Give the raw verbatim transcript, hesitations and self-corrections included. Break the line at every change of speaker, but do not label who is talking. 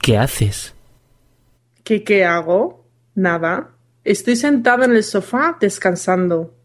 ¿Qué haces?
¿Qué, qué hago? Nada. Estoy sentada en el sofá descansando.